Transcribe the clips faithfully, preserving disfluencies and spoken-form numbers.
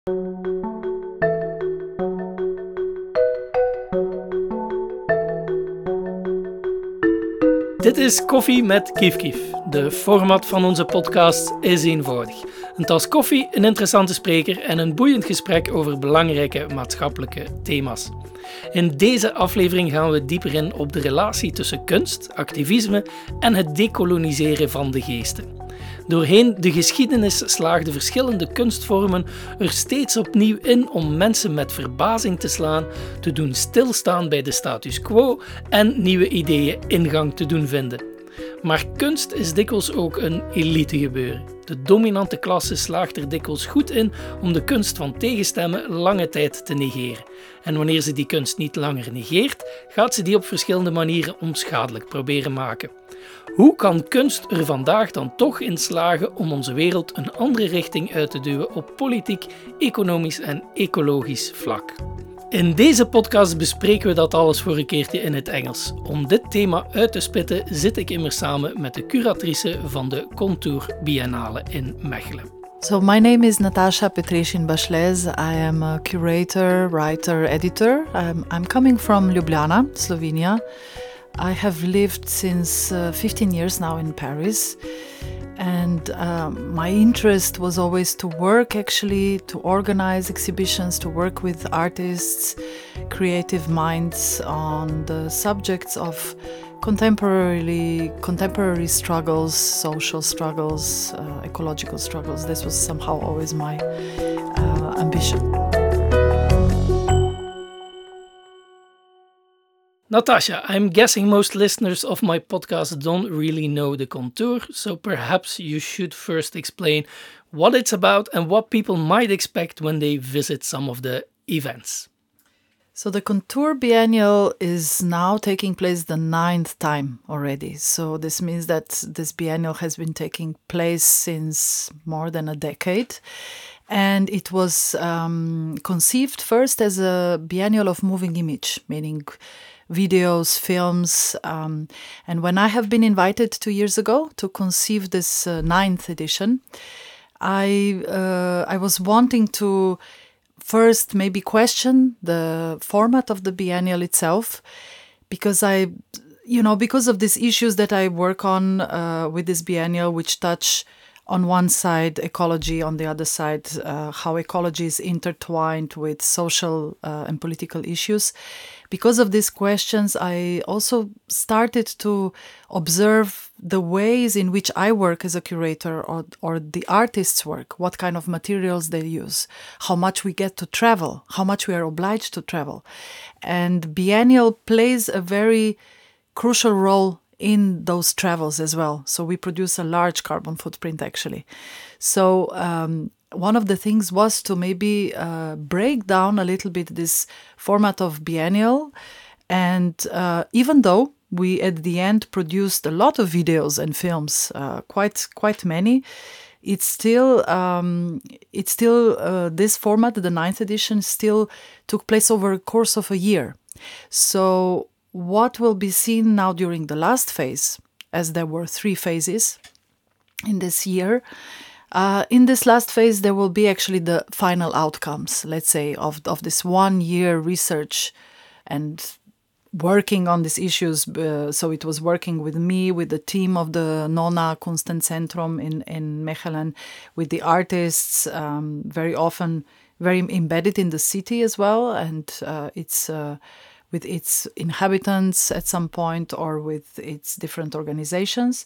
Dit is Koffie met Kief Kief. De format van onze podcast is eenvoudig. Een tas koffie, een interessante spreker en een boeiend gesprek over belangrijke maatschappelijke thema's. In deze aflevering gaan we dieper in op de relatie tussen kunst, activisme en het dekoloniseren van de geesten. Doorheen de geschiedenis slaagden verschillende kunstvormen er steeds opnieuw in om mensen met verbazing te slaan, te doen stilstaan bij de status quo en nieuwe ideeën ingang te doen vinden. Maar kunst is dikwijls ook een elitegebeuren. De dominante klasse slaagt er dikwijls goed in om de kunst van tegenstemmen lange tijd te negeren. En wanneer ze die kunst niet langer negeert, gaat ze die op verschillende manieren onschadelijk proberen maken. Hoe kan kunst er vandaag dan toch in slagen om onze wereld een andere richting uit te duwen op politiek, economisch en ecologisch vlak? In deze podcast bespreken we dat alles voor een keertje in het Engels. Om dit thema uit te spitten zit ik immers samen met de curatrice van de Contour Biennale in Mechelen. So my name is Natasha Petreshin-Bashlez. I am a curator, writer, editor. I'm, I'm coming from Ljubljana, Slovenia. I have lived since uh, fifteen years now in Paris, and uh, my interest was always to work actually, to organize exhibitions, to work with artists, creative minds on the subjects of contemporary contemporary struggles, social struggles, uh, ecological struggles. This was somehow always my uh, ambition. Natasha, I'm guessing most listeners of my podcast don't really know the Contour, so perhaps you should first explain what it's about and what people might expect when they visit some of the events. So the Contour Biennial is now taking place the ninth time already. So this means that this biennial has been taking place since more than a decade. And it was um, conceived first as a biennial of moving image, meaning videos, films. Um, and when I have been invited two years ago to conceive this uh, ninth edition, I uh, I was wanting to first maybe question the format of the biennial itself, because I, you know, because of these issues that I work on uh, with this biennial, which touch on one side ecology, on the other side uh, how ecology is intertwined with social uh, and political issues. Because of these questions, I also started to observe the ways in which I work as a curator, or, or the artists work, what kind of materials they use, how much we get to travel, how much we are obliged to travel. And Biennial plays a very crucial role in those travels as well. So we produce a large carbon footprint actually. So um, one of the things was to maybe uh, break down a little bit this format of biennial. And uh, even though we at the end produced a lot of videos and films, uh, quite quite many, it's still um, it's still uh, this format, the ninth edition, still took place over a course of a year. So what will be seen now during the last phase, as there were three phases in this year, uh, in this last phase there will be actually the final outcomes, let's say, of, of this one year research and working on these issues. Uh, so it was working with me, with the team of the Nona Kunstencentrum in, in Mechelen, with the artists, um, very often very embedded in the city as well, and uh, it's... Uh, with its inhabitants at some point, or with its different organizations.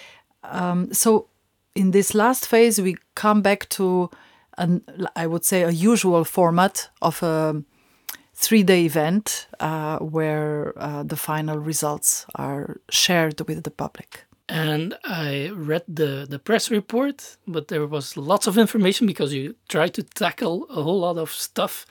Um, so in this last phase, we come back to, an, I would say, a usual format of a three-day event uh, where uh, the final results are shared with the public. And I read the, the press report, but there was lots of information because you tried to tackle a whole lot of stuff.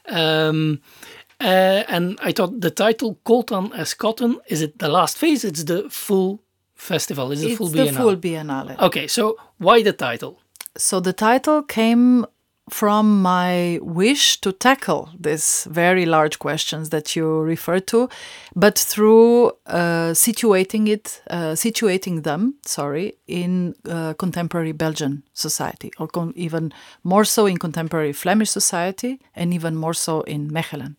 Um, Uh, and I thought the title, Coltan as Cotton, is it the last phase? It's the full festival. Is it it's full the Biennale? full Biennale. Okay, so why the title? So the title came from my wish to tackle these very large questions that you refer to, but through uh, situating it, uh, situating them, sorry, in uh, contemporary Belgian society, or con- even more so in contemporary Flemish society, and even more so in Mechelen.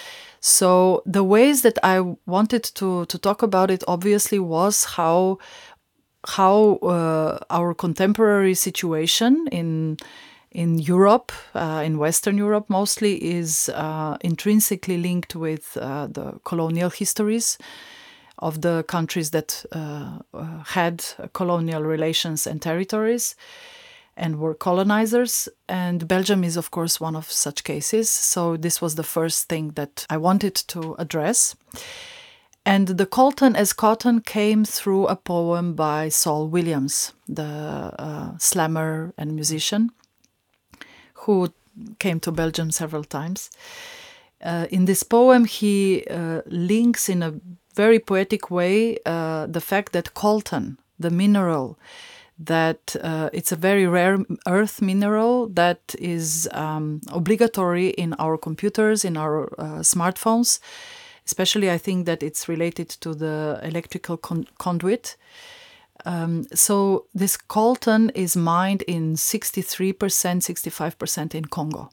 So the ways that I wanted to to talk about it, obviously, was how how uh, our contemporary situation in in Europe, uh, in Western Europe mostly, is uh, intrinsically linked with uh, the colonial histories of the countries that uh, uh, had colonial relations and territories and were colonizers. And Belgium is, of course, one of such cases. So this was the first thing that I wanted to address. And the coltan as cotton came through a poem by Saul Williams, the uh, slammer and musician, who came to Belgium several times. Uh, in this poem, he uh, links in a very poetic way uh, the fact that coltan, the mineral, that uh, it's a very rare earth mineral that is um, obligatory in our computers, in our uh, smartphones. Especially, I think that it's related to the electrical con- conduit. Um, so this coltan is mined in sixty-three percent, sixty-five percent in Congo.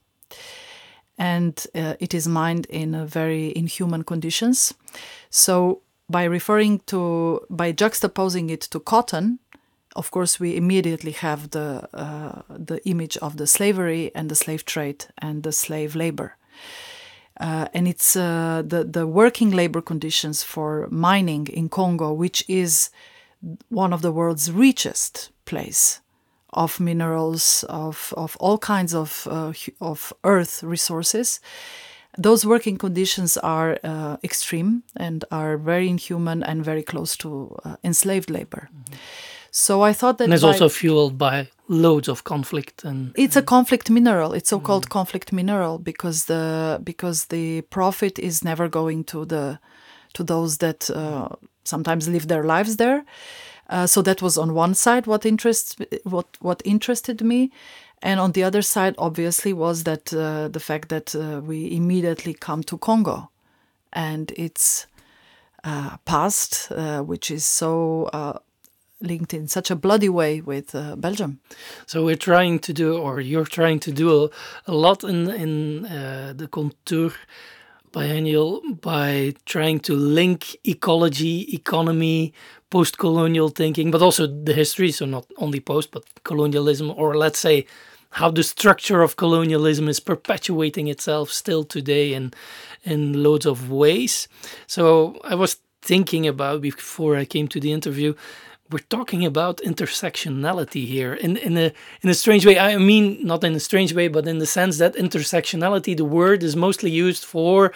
And uh, it is mined in a very inhuman conditions. So by referring to, by juxtaposing it to cotton, of course, we immediately have the uh, the image of the slavery and the slave trade and the slave labor. Uh, and it's uh, the, the working labor conditions for mining in Congo, which is one of the world's richest place of minerals, of, of all kinds of, uh, of earth resources. Those working conditions are uh, extreme and are very inhuman and very close to uh, enslaved labor. Mm-hmm. So I thought that... And it's also fueled by loads of conflict. And It's a conflict mineral. It's so-called mm. conflict mineral because the because the profit is never going to the to those that uh, sometimes live their lives there. Uh, so that was on one side what interests what what interested me, and on the other side, obviously, was that uh, the fact that uh, we immediately come to Congo, and its uh, past, uh, which is so. Uh, linked in such a bloody way with uh, Belgium. So we're trying to do, or you're trying to do a, a lot in, in uh, the Contour Biennial by trying to link ecology, economy, post-colonial thinking, but also the history, so not only post, but colonialism, or let's say how the structure of colonialism is perpetuating itself still today in, in loads of ways. So I was thinking about, before I came to the interview, we're talking about intersectionality here in, in a in a strange way. I mean, not in a strange way, but in the sense that intersectionality, the word is mostly used for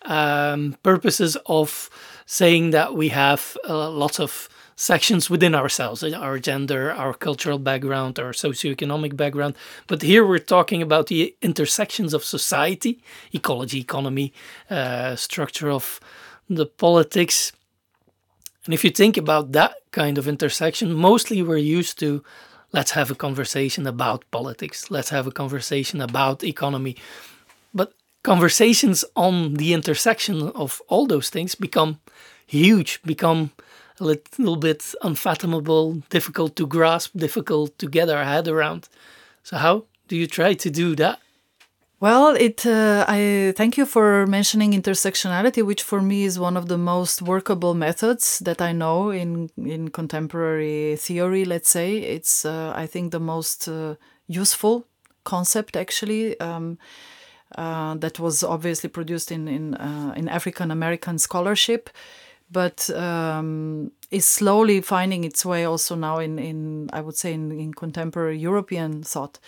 um, purposes of saying that we have uh, lots of sections within ourselves, our gender, our cultural background, our socioeconomic background. But here we're talking about the intersections of society, ecology, economy, uh, structure of the politics. And if you think about that kind of intersection, mostly we're used to, let's have a conversation about politics, let's have a conversation about economy. But conversations on the intersection of all those things become huge, become a little bit unfathomable, difficult to grasp, difficult to get our head around. So how do you try to do that? Well, it. Uh, I thank you for mentioning intersectionality, which for me is one of the most workable methods that I know in in contemporary theory. Let's say it's. Uh, I think the most uh, useful concept actually um, uh, that was obviously produced in in uh, in African American scholarship, but um, is slowly finding its way also now in in I would say in, in contemporary European thought.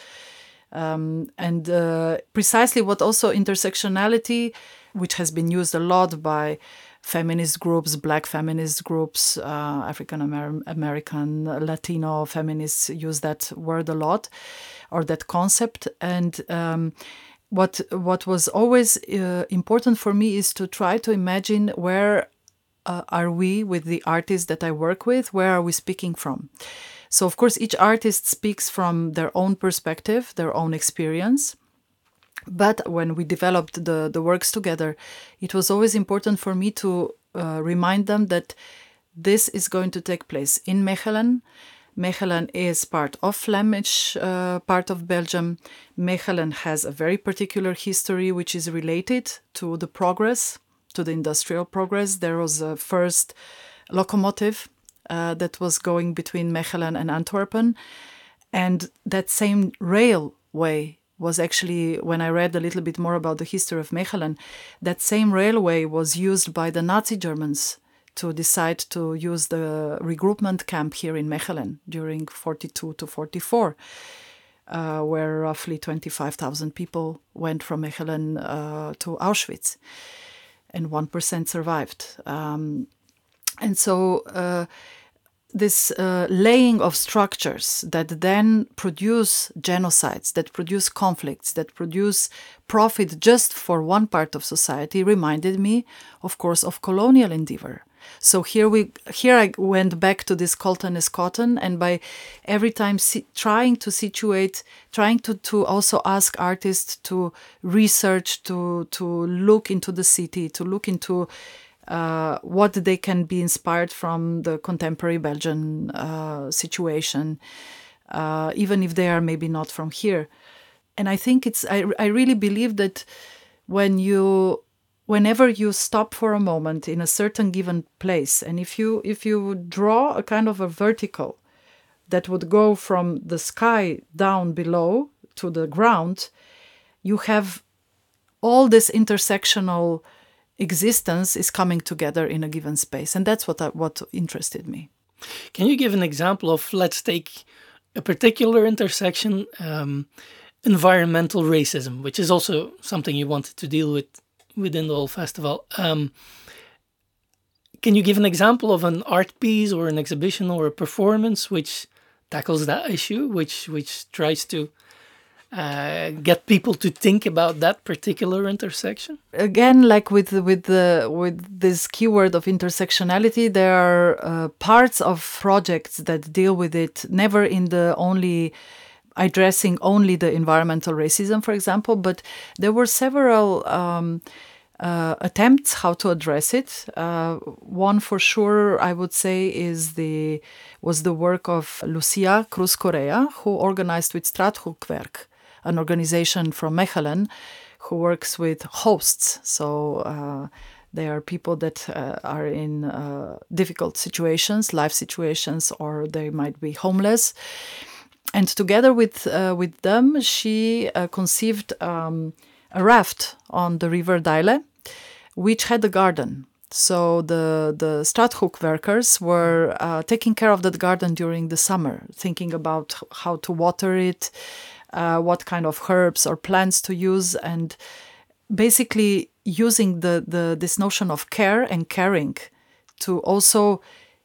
Um, and uh, precisely what also intersectionality, which has been used a lot by feminist groups, Black feminist groups, uh, African Amer- American, Latino feminists use that word a lot, or that concept. And um, what what was always uh, important for me is to try to imagine where uh, are we with the artists that I work with, where are we speaking from? So, of course, each artist speaks from their own perspective, their own experience. But when we developed the, the works together, it was always important for me to uh, remind them that this is going to take place in Mechelen. Mechelen is part of Flemish, uh, part of Belgium. Mechelen has a very particular history which is related to the progress, to the industrial progress. There was a first locomotive uh, that was going between Mechelen and Antwerpen. And that same railway was actually, when I read a little bit more about the history of Mechelen, that same railway was used by the Nazi Germans to decide to use the regroupment camp here in Mechelen during forty-two to forty-four, uh, where roughly twenty-five thousand people went from Mechelen uh, to Auschwitz, and one percent survived. Um, and so uh, this uh, laying of structures that then produce genocides, that produce conflicts, that produce profit just for one part of society reminded me, of course, of colonial endeavor. So here we, here I went back to this cotton is cotton, and by every time si- trying to situate, trying to, to also ask artists to research, to to look into the city, to look into uh, what they can be inspired from the contemporary Belgian uh, situation, uh, even if they are maybe not from here. And I think it's, I, I really believe that when you whenever you stop for a moment in a certain given place, and if you if you draw a kind of a vertical that would go from the sky down below to the ground, you have all this intersectional existence is coming together in a given space. And that's what I, what interested me. Can you give an example of, let's take a particular intersection, um, environmental racism, which is also something you wanted to deal with within the whole festival. Um, can you give an example of an art piece or an exhibition or a performance which tackles that issue, which which tries to uh, get people to think about that particular intersection? Again, like with with the with this keyword of intersectionality, there are uh, parts of projects that deal with it, never in the only addressing only the environmental racism, for example, but there were several um, uh, attempts how to address it. Uh, one for sure, I would say, is the was the work of Lucia Cruz Correa, who organized with Straathoekwerk, an organization from Mechelen, who works with hosts. So uh, they are people that uh, are in uh, difficult situations, life situations, or they might be homeless. And together with uh, with them, she uh, conceived um, a raft on the river Deile, which had a garden. So the the Straathoekwerkers were uh, taking care of that garden during the summer, thinking about how to water it, uh, what kind of herbs or plants to use, and basically using the, the this notion of care and caring to also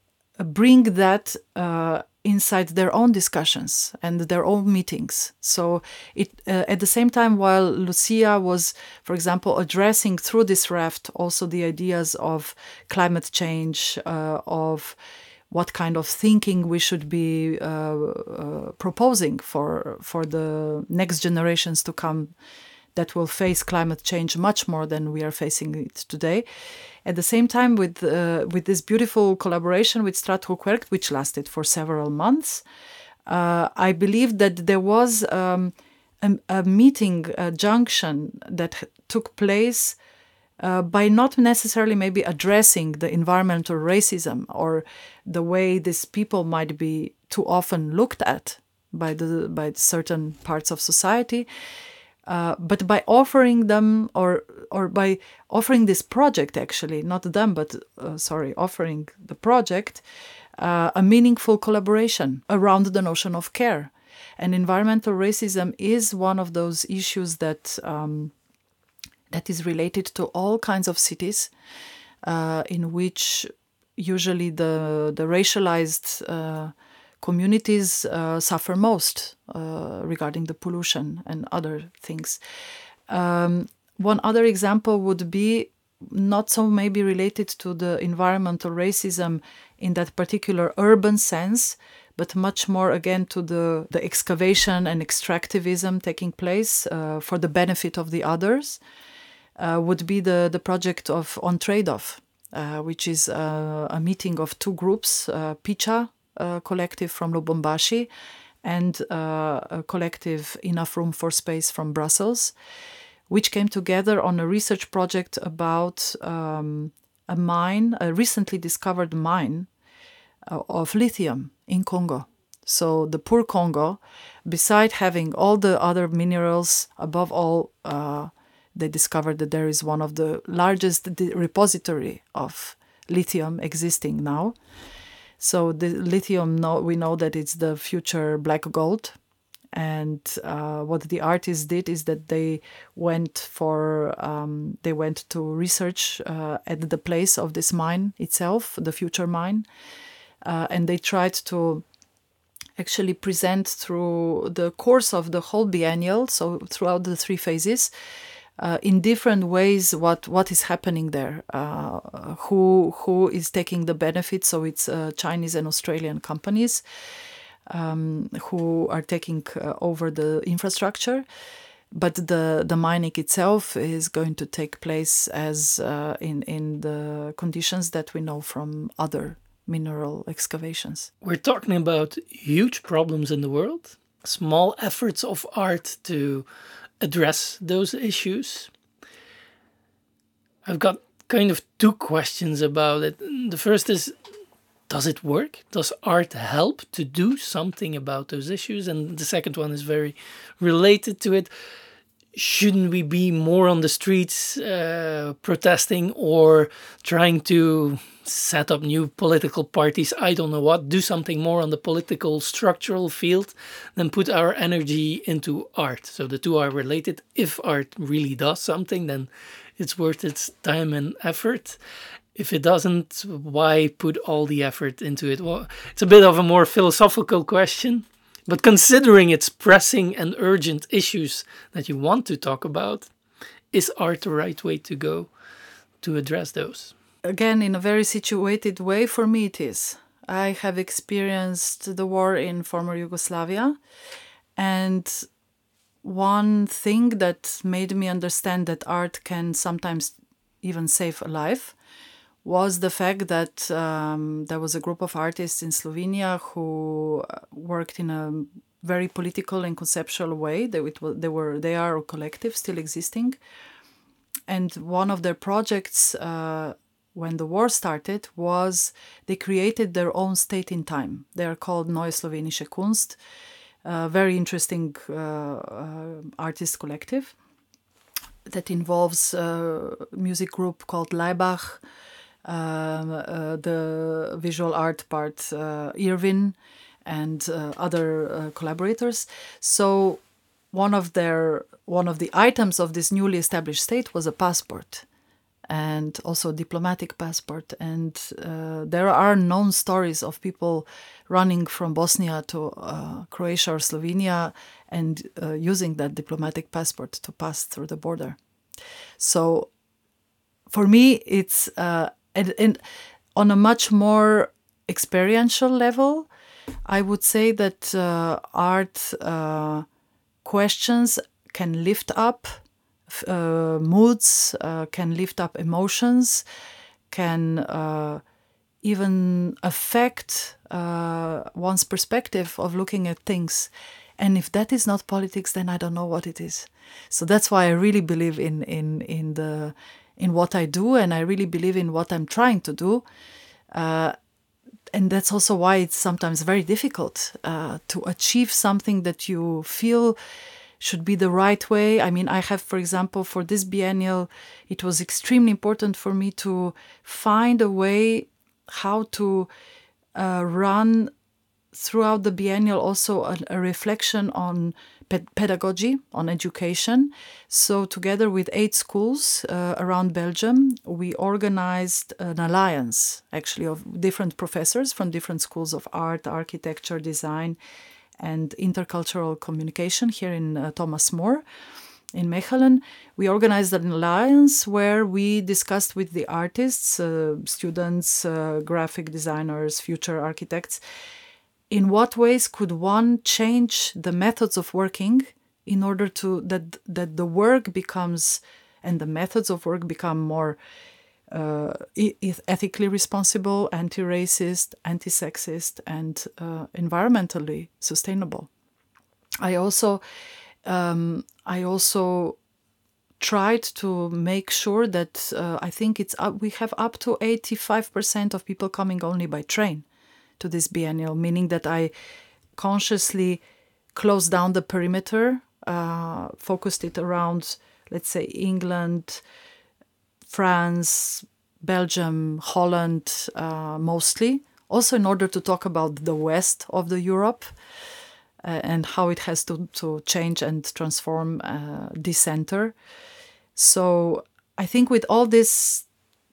bring that uh, inside their own discussions and their own meetings. So it uh, at the same time, while Lucia was, for example, addressing through this raft also the ideas of climate change, uh, of what kind of thinking we should be uh, uh, proposing for for the next generations to come that will face climate change much more than we are facing it today. At the same time, with uh, with this beautiful collaboration with Straathoekwerk, which lasted for several months, uh, I believe that there was um, a, a meeting, a junction that took place uh, by not necessarily maybe addressing the environmental racism or the way these people might be too often looked at by the by certain parts of society. Uh, but by offering them, or or by offering this project, actually, not them, but uh, sorry, offering the project, uh, a meaningful collaboration around the notion of care. And environmental racism is one of those issues that um, that is related to all kinds of cities, uh, in which usually the the racialized uh, communities uh, suffer most uh, regarding the pollution and other things. Um, one other example would be not so maybe related to the environmental racism in that particular urban sense, but much more again to the, the excavation and extractivism taking place uh, for the benefit of the others, uh, would be the, the project of On Trade-Off, uh, which is uh, a meeting of two groups, uh, Picha uh, collective from Lubumbashi and uh, a collective Enough Room for Space from Brussels, which came together on a research project about um, a mine, a recently discovered mine uh, of lithium in Congo. So the poor Congo, beside having all the other minerals, above all, uh, they discovered that there is one of the largest repository of lithium existing now. So the lithium, no, we know that it's the future black gold. And uh, what the artists did is that they went for um, they went to research uh, at the place of this mine itself, the future mine, uh, and they tried to actually present through the course of the whole biennial, so throughout the three phases, uh, in different ways what what is happening there, uh, who who is taking the benefit. So it's uh, Chinese and Australian companies Um, who are taking uh, over the infrastructure, but the, the mining itself is going to take place as uh, in, in the conditions that we know from other mineral excavations. We're talking about huge problems in the world, small efforts of art to address those issues. I've got kind of two questions about it. The first is, does it work? Does art help to do something about those issues? And the second one is very related to it. Shouldn't we be more on the streets uh, protesting or trying to set up new political parties? I don't know what. Do something more on the political structural field than put our energy into art. So the two are related. If art really does something, then it's worth its time and effort. If it doesn't, why put all the effort into it? Well, it's a bit of a more philosophical question, but considering its pressing and urgent issues that you want to talk about, is art the right way to go to address those? Again, in a very situated way, for me it is. I have experienced the war in former Yugoslavia, and one thing that made me understand that art can sometimes even save a life was the fact that um, there was a group of artists in Slovenia who worked in a very political and conceptual way. They, it was, they were they are a collective still existing, and one of their projects uh, when the war started was they created their own state in time. They are called Neue Slowenische Kunst, a very interesting uh, uh, artist collective that involves a music group called Laibach, Um, uh, the visual art part, uh, Irvin, and uh, other uh, collaborators. So one of their one of the items of this newly established state was a passport, and also a diplomatic passport. And uh, there are known stories of people running from Bosnia to uh, Croatia or Slovenia and uh, using that diplomatic passport to pass through the border. So for me, it's uh, And, and on a much more experiential level, I would say that uh, art uh, questions can lift up uh, moods, uh, can lift up emotions, can uh, even affect uh, one's perspective of looking at things. And if that is not politics, then I don't know what it is. So that's why I really believe in in in the in what I do, and I really believe in what I'm trying to do. Uh, and that's also why it's sometimes very difficult uh, to achieve something that you feel should be the right way. I mean, I have, for example, for this biennial, it was extremely important for me to find a way how to uh, run throughout the biennial also a, a reflection on ped- pedagogy, on education. So together with eight schools uh, around Belgium, we organized an alliance, actually, of different professors from different schools of art, architecture, design, and intercultural communication here in uh, Thomas More in Mechelen. We organized an alliance where we discussed with the artists, uh, students, uh, graphic designers, future architects, in what ways could one change the methods of working in order to that that the work becomes and the methods of work become more uh, ethically responsible, anti-racist, anti-sexist, and uh, environmentally sustainable. I also um, I also tried to make sure that uh, I think it's up, we have up to eighty-five percent of people coming only by train to this biennial, meaning that I consciously closed down the perimeter, uh, focused it around, let's say, England, France, Belgium, Holland, uh, mostly, also in order to talk about the west of the Europe uh, and how it has to, to change and transform, uh, decenter. So I think with all these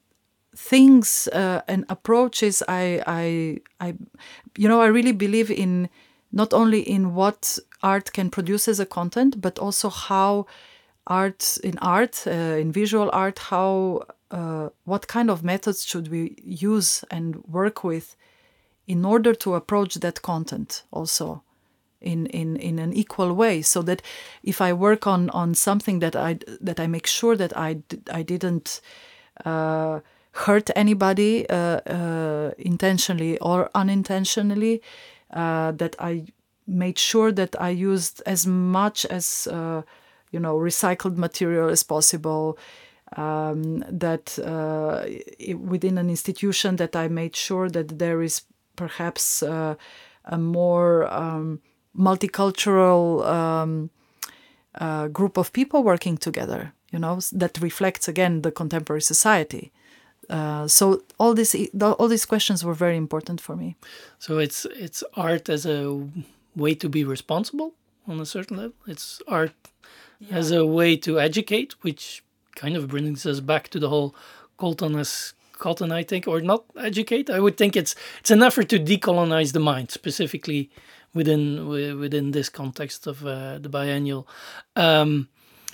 things uh, and approaches, I, I, I, you know, I really believe in not only in what art can produce as a content, but also how art in art, uh, in visual art, how uh, what kind of methods should we use and work with in order to approach that content also in, in, in an equal way, so that if I work on, on something that I that I make sure that I, I didn't uh, hurt anybody uh, uh, intentionally or unintentionally, uh, that I made sure that I used as much as uh, you know recycled material as possible. Um, that uh, within an institution that I made sure that there is perhaps uh, a more um, multicultural um, uh, group of people working together, you know, that reflects again the contemporary society. Uh, so all these all these questions were very important for me. So it's it's art as a way to be responsible on a certain level. It's art yeah. as a way to educate, which kind of brings us back to the whole Colton as Cotton, I think, or not educate. I would think it's it's an effort to decolonize the mind, specifically within within this context of uh, the biennial. Um,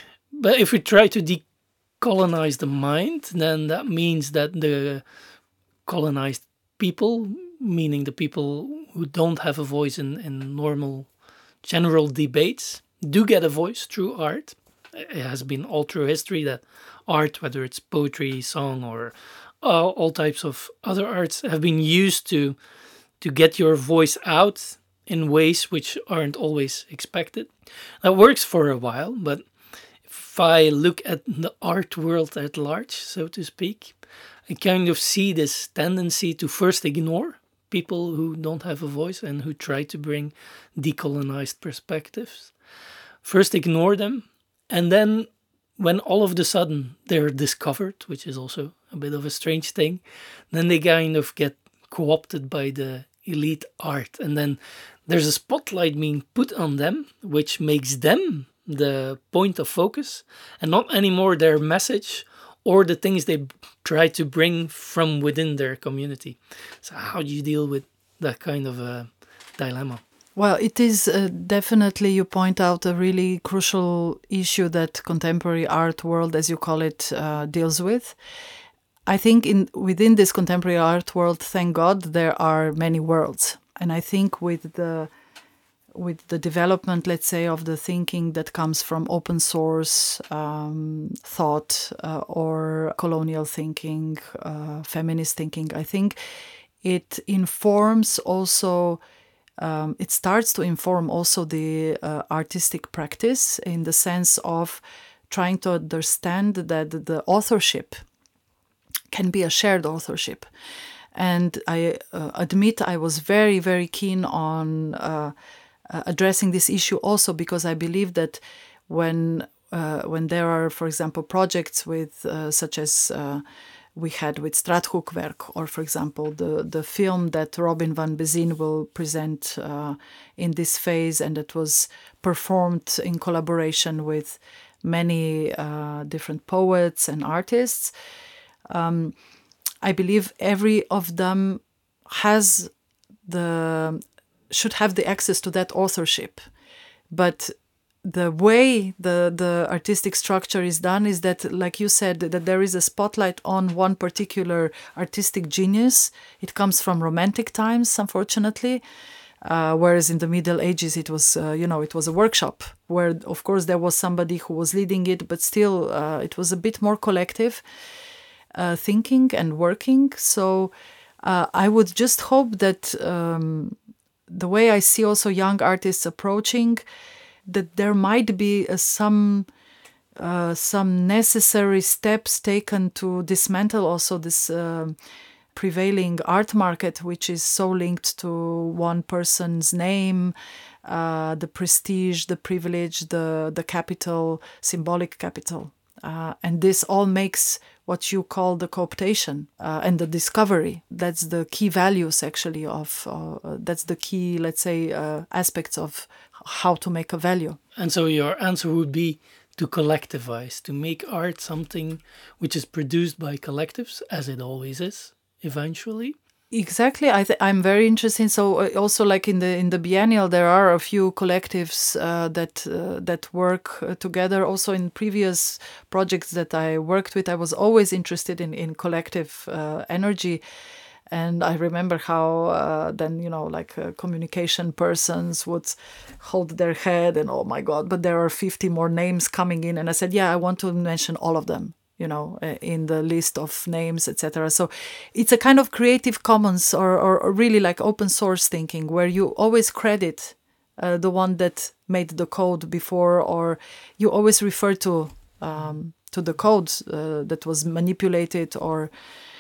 but if we try to decolonize the mind, then that means that the colonized people, meaning the people who don't have a voice in, in normal general debates, do get a voice through art. It has been all through history that art, whether it's poetry, song, or uh, all types of other arts, have been used to to get your voice out in ways which aren't always expected. That works for a while, but if I look at the art world at large, so to speak, I kind of see this tendency to first ignore people who don't have a voice and who try to bring decolonized perspectives. First ignore them, and then when all of a sudden they're discovered, which is also a bit of a strange thing, then they kind of get co-opted by the elite art. And then there's a spotlight being put on them, which makes them the point of focus and not anymore their message or the things they try to bring from within their community. So how do you deal with that kind of a dilemma? Well, it is uh, definitely, you point out, a really crucial issue that contemporary art world, as you call it, uh, deals with. I think in within this contemporary art world, thank God, there are many worlds. And I think with the with the development, let's say, of the thinking that comes from open source um, thought uh, or colonial thinking, uh, feminist thinking, I think it informs also Um, it starts to inform also the uh, artistic practice in the sense of trying to understand that the authorship can be a shared authorship. And I uh, admit I was very, very keen on uh, uh, addressing this issue also because I believe that when uh, when there are, for example, projects with uh, such as uh, we had with Straathoekwerk, or for example, the, the film that Robin van Bezien will present uh, in this phase, and it was performed in collaboration with many uh, different poets and artists. Um, I believe every of them has the should have the access to that authorship, but the way the, the artistic structure is done is that, like you said, that there is a spotlight on one particular artistic genius. It comes from Romantic times, unfortunately. Uh, whereas in the Middle Ages, it was, uh, you know, it was a workshop where, of course, there was somebody who was leading it, but still uh, it was a bit more collective uh, thinking and working. So uh, I would just hope that um, the way I see also young artists approaching, that there might be uh, some uh, some necessary steps taken to dismantle also this uh, prevailing art market, which is so linked to one person's name, uh, the prestige, the privilege, the the capital, symbolic capital. Uh, and this all makes what you call the cooptation uh, and the discovery. That's the key values, actually, of, uh, that's the key, let's say, uh, aspects of how to make a value. And so your answer would be to collectivize, to make art something which is produced by collectives, as it always is, eventually. Exactly. I th- I'm very interested. So uh, also, like in the in the biennial, there are a few collectives uh, that uh, that work uh, together. Also, in previous projects that I worked with, I was always interested in in collective uh, energy. And I remember how uh, then, you know, like uh, communication persons would hold their head and, oh my God, but there are fifty more names coming in. And I said, yeah, I want to mention all of them, you know, in the list of names, et cetera. So it's a kind of Creative Commons or, or, or really like open source thinking, where you always credit uh, the one that made the code before, or you always refer to um, to the code uh, that was manipulated. Or,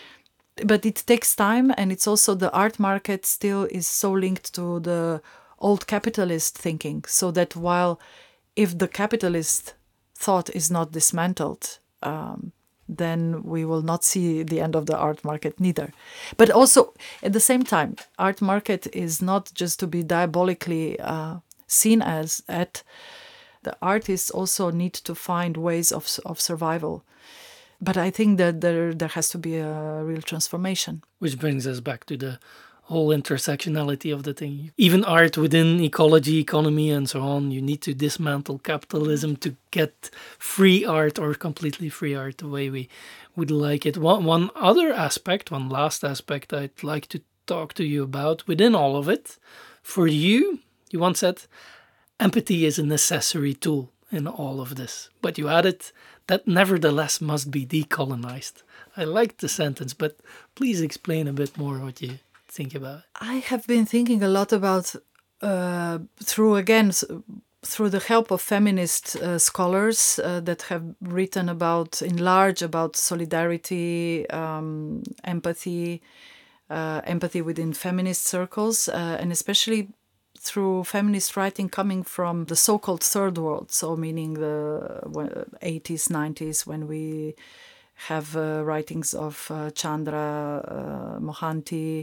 but it takes time, and it's also the art market still is so linked to the old capitalist thinking, so that while if the capitalist thought is not dismantled, Um, then we will not see the end of the art market neither. But also, at the same time, art market is not just to be diabolically uh, seen as at. The artists also need to find ways of of survival. But I think that there there has to be a real transformation. Which brings us back to the whole intersectionality of the thing. Even art within ecology, economy, and so on, you need to dismantle capitalism to get free art or completely free art the way we would like it. One, one other aspect, one last aspect I'd like to talk to you about within all of it, for you, you once said, empathy is a necessary tool in all of this. But you added that nevertheless must be decolonized. I liked the sentence, but please explain a bit more what you think about it. I have been thinking a lot about uh, through again through the help of feminist uh, scholars uh, that have written about in large about solidarity, um, empathy, uh, empathy within feminist circles, uh, and especially through feminist writing coming from the so-called third world, so meaning the eighties, nineties, when we have uh, writings of uh, Chandra uh, Mohanty,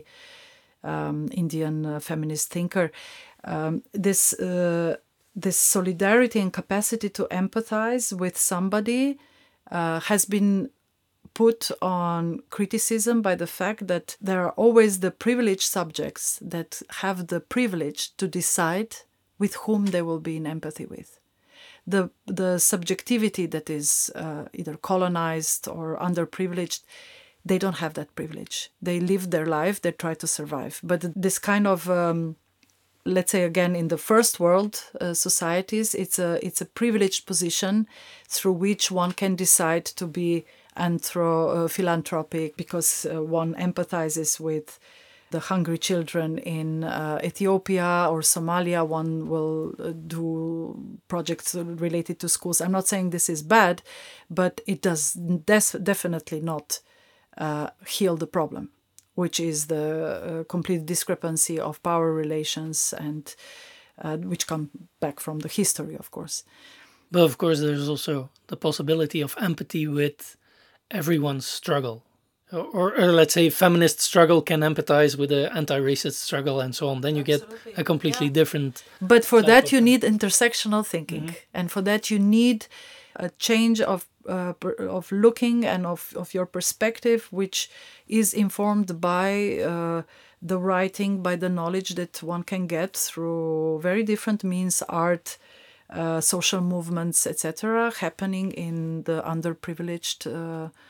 um, Indian uh, feminist thinker. Um, this uh, this solidarity and capacity to empathize with somebody uh, has been put on criticism by the fact that there are always the privileged subjects that have the privilege to decide with whom they will be in empathy with. The the subjectivity that is uh, either colonized or underprivileged, they don't have that privilege. They live their life, they try to survive. But this kind of, um, let's say again, in the first world uh, societies, it's a it's a privileged position through which one can decide to be anthro uh, philanthropic because uh, one empathizes with the hungry children in uh, Ethiopia or Somalia. One will uh, do projects related to schools. I'm not saying this is bad, but it does des- definitely not uh, heal the problem, which is the uh, complete discrepancy of power relations, and uh, which come back from the history, of course. But of course, there's also the possibility of empathy with everyone's struggle. Or, or let's say feminist struggle can empathize with the anti-racist struggle and so on. Then you Absolutely. get a completely Yeah. different... But for that, you them. need intersectional thinking. Mm-hmm. And for that, you need a change of uh, of looking and of, of your perspective, which is informed by uh, the writing, by the knowledge that one can get through very different means, art, uh, social movements, et cetera, happening in the underprivileged uh,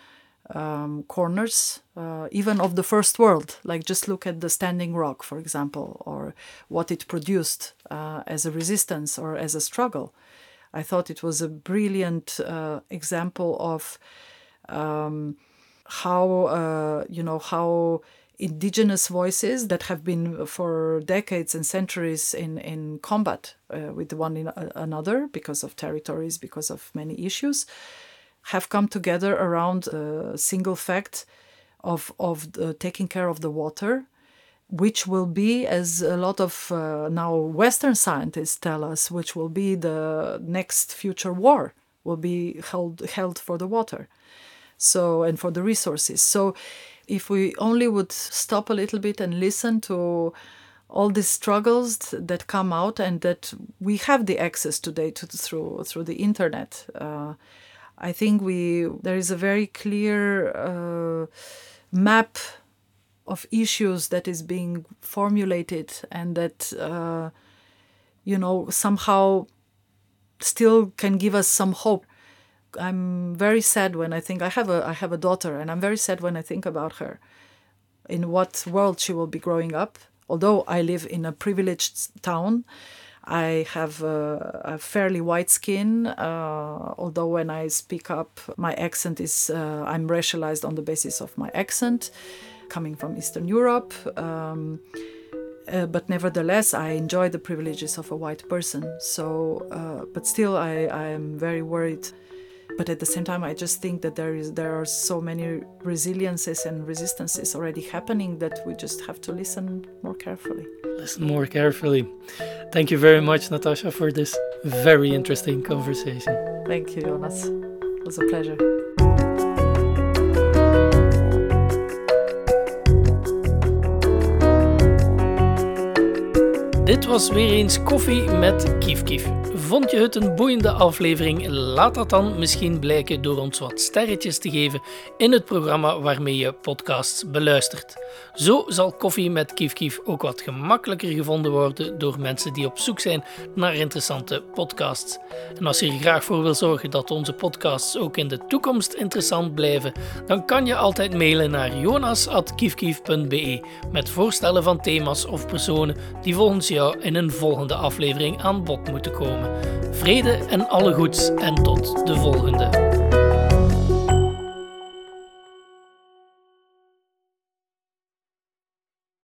um, corners, uh, even of the first world. Like just look at the Standing Rock, for example, or what it produced uh, as a resistance or as a struggle. I thought it was a brilliant uh, example of um, how, uh, you know, how indigenous voices that have been for decades and centuries in, in combat uh, with one in, uh, another because of territories, because of many issues, have come together around the single fact of, of the, taking care of the water, which will be, as a lot of uh, now Western scientists tell us, which will be the next future war, will be held, held for the water. So, and for the resources. So if we only would stop a little bit and listen to all these struggles that come out and that we have the access today to through through the internet, uh, I think we there is a very clear uh, map of issues that is being formulated and that uh, you know somehow still can give us some hope. I'm very sad when I think I have a I have a daughter, and I'm very sad when I think about her, in what world she will be growing up. Although I live in a privileged town, I have a, a fairly white skin. Uh, although when I speak up, my accent is uh, I'm racialized on the basis of my accent, coming from Eastern Europe. Um, uh, but nevertheless, I enjoy the privileges of a white person. So, uh, but still, I, I am very worried. But at the same time, I just think that there is there are so many resiliences and resistances already happening that we just have to listen more carefully. Listen more carefully. Thank you very much, Natasha, for this very interesting conversation. Thank you, Jonas. It was a pleasure. Dit was weer eens Koffie met Kief Kief. Vond je het een boeiende aflevering? Laat dat dan misschien blijken door ons wat sterretjes te geven in het programma waarmee je podcasts beluistert. Zo zal Koffie met Kief Kief ook wat gemakkelijker gevonden worden door mensen die op zoek zijn naar interessante podcasts. En als je er graag voor wil zorgen dat onze podcasts ook in de toekomst interessant blijven, dan kan je altijd mailen naar jonas at kiefkief punt be met voorstellen van thema's of personen die volgens jou in een volgende aflevering aan bod moeten komen. Vrede en alle goeds en tot de volgende.